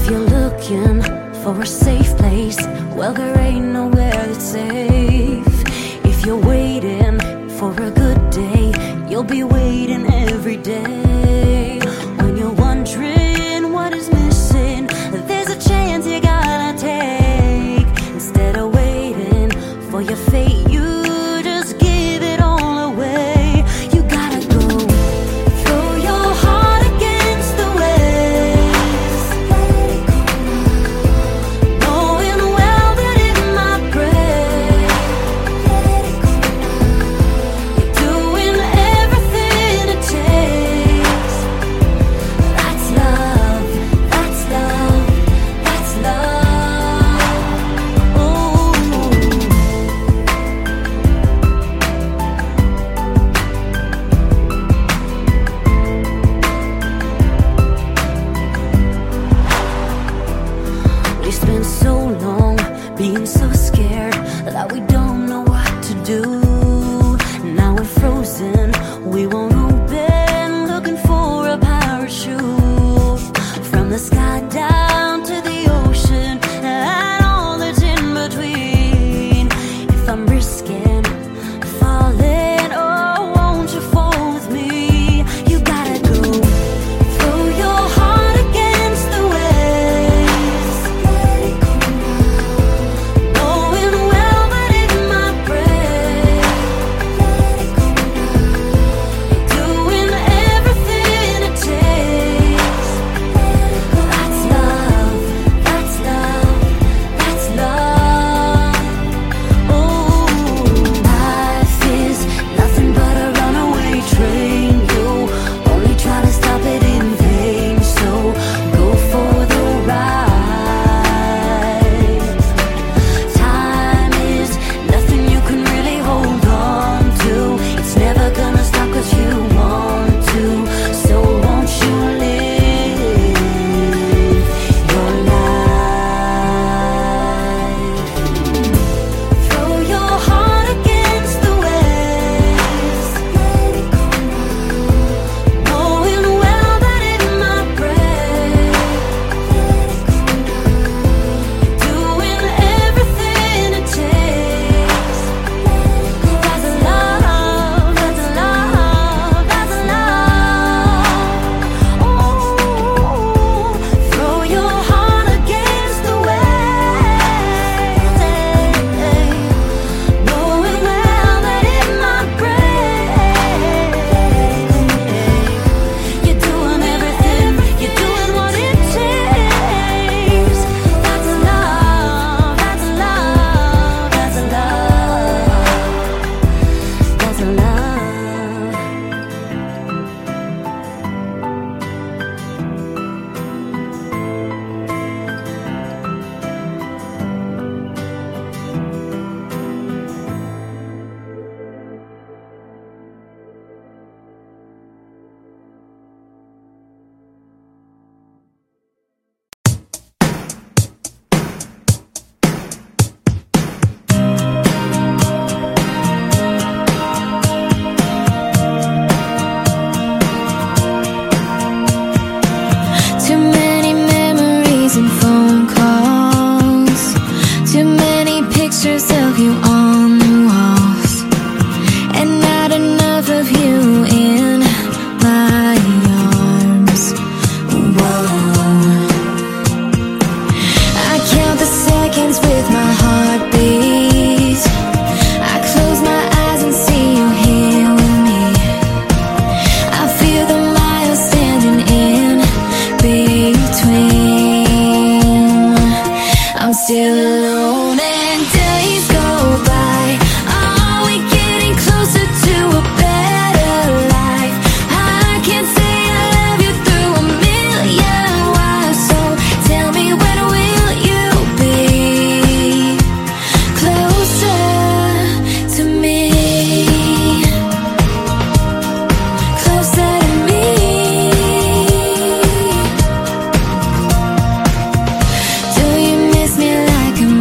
you're looking for a safe place, well, there ain't nowhere that's safe. If you're waiting for a good day, you'll be waiting every day. When you're wondering what is missing, there's a chance you gotta take. Instead of waiting for your fate, you just give it all away. You gotta go. Throw your heart against the waves, knowing well that it might break. You're doing everything it takes. That's love, that's love, that's love. Oh. We spend so long being so scared that we don't know what to do. Now we're frozen, we won't open, looking for a parachute. From the sky down to the ocean and all that's in between. If I'm risking falling, oh, won't you fall with me? You gotta go. Throw your heart against the waves, knowing well that it might break. Doing everything it takes. That's love, that's love, that's love. Oh, life is nothing but a runaway train. You only try to stop it in vain. So go for the ride. Time is nothing you can really hold on to. It's never gonna stop 'cause you want to. So won't you live your life? Throw your heart against the waves, knowing well that it might break. Doing everything it takes. That's love, that's love, that's love. Oh, throw your heart against the waves, knowing well that it might break. You're doing everything, you're doing what it takes. That's love, that's love, that's love, that's love. Too many memories and phone calls. Too many pictures of you on the walls. And not enough of you in my arms. Whoa. I count the seconds with my heartbeat. I close my eyes and see you here with me. I feel the miles standing in between. I'm still alone and days go by. Are we getting closer to a better life? I can't say I love you through a million wires. So tell me, when will you be closer to me? Closer to me. Do you miss me like I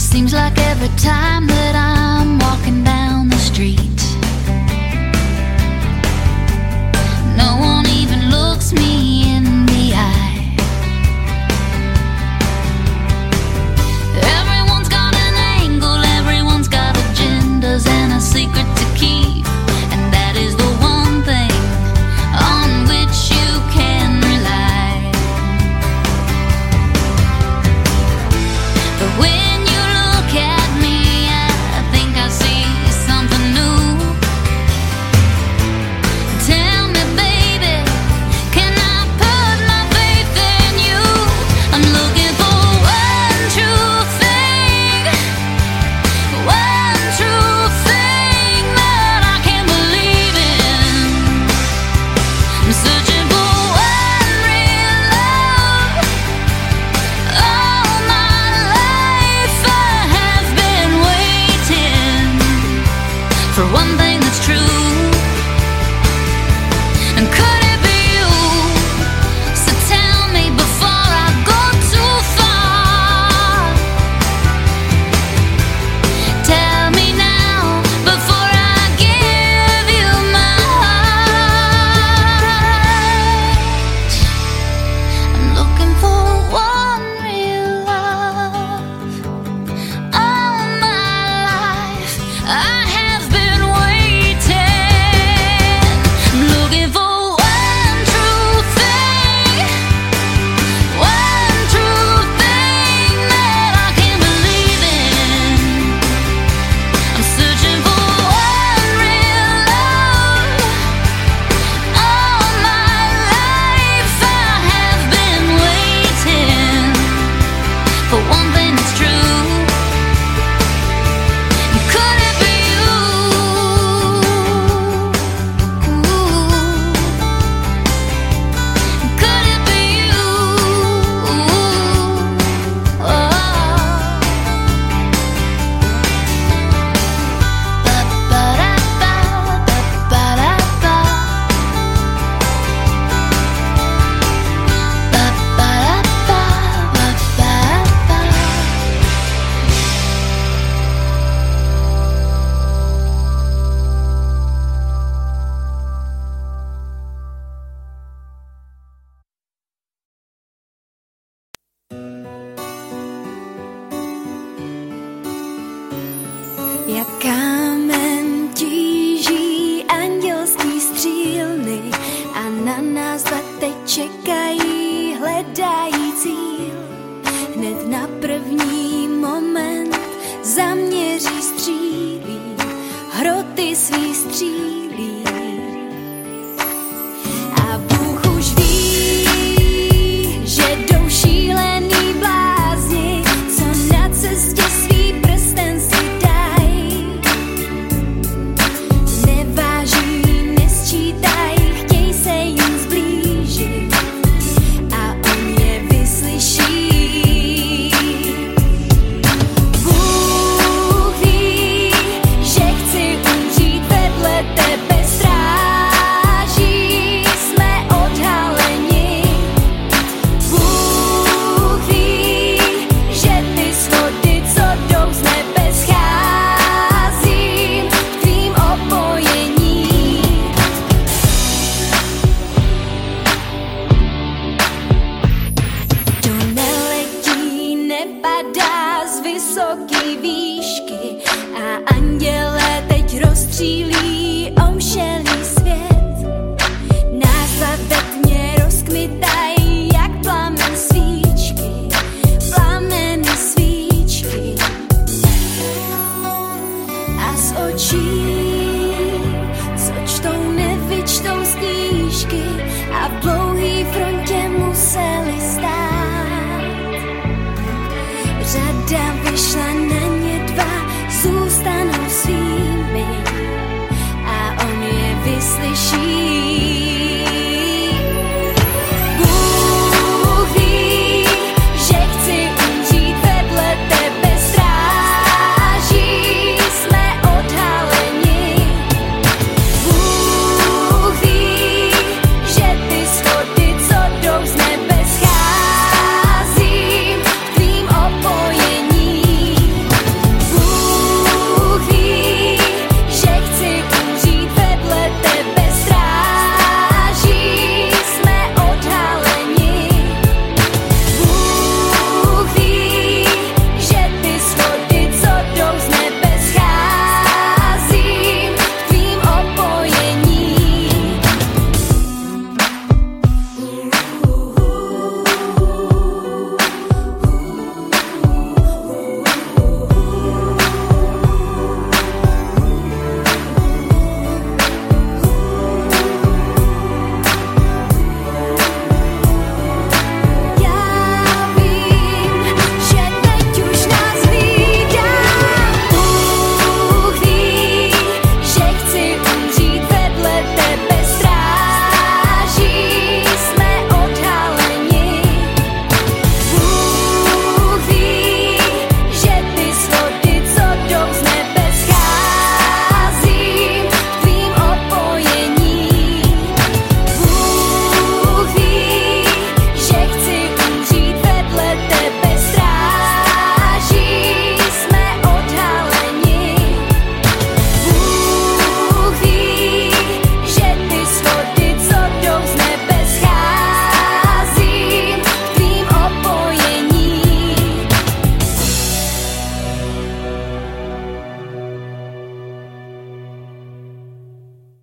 Seems like every time that I'm walking down the street, no one even looks me in the eye. Everyone's got an angle, everyone's got agendas and a secret to keep, and that is the one thing on which you can rely. But when you look at me, I think I see something new. Tell me, baby, can I put my faith in you? I'm looking for one true thing that I can believe in. I'm searching for one real love. All my life I have been waiting for one thing that's true. And could it be you? So tell me before I go too far. Tell me now before I give you my heart. I'm looking for one real love. All my life I have been waiting. I'm looking for one true thing that I can believe in. I'm searching for one real love. All my life I have been waiting for one thing that's true. Could it be you? Could it be you? Jak kámen tíží andělský střílny a na nás dva teď čekají, hledají cíl. Hned na první moment zaměří střílí, hroty svý střílí. A Bůh už ví, že jdou šílený blázni, co na cestě svý prsten si dají. Neváží, nesčítají, chtějí se jim zblížit a on je vyslyší. Bůh ví, že chci umřít vedle tebe, stráží, jsme odhaleni. Bůh ví, že ty schody, co jdou z nebe, scházím v tvým opojení. To neletí, nepadá z vysoký výšky a anděle teď rozstřílí omšelý svět. Nás ve tmě rozkmitají jak plamen svíčky, plameny svíčky. A z očí, co čtou, nevyčtou z knížky a v dlouhý frontě museli stát. Řada vyšší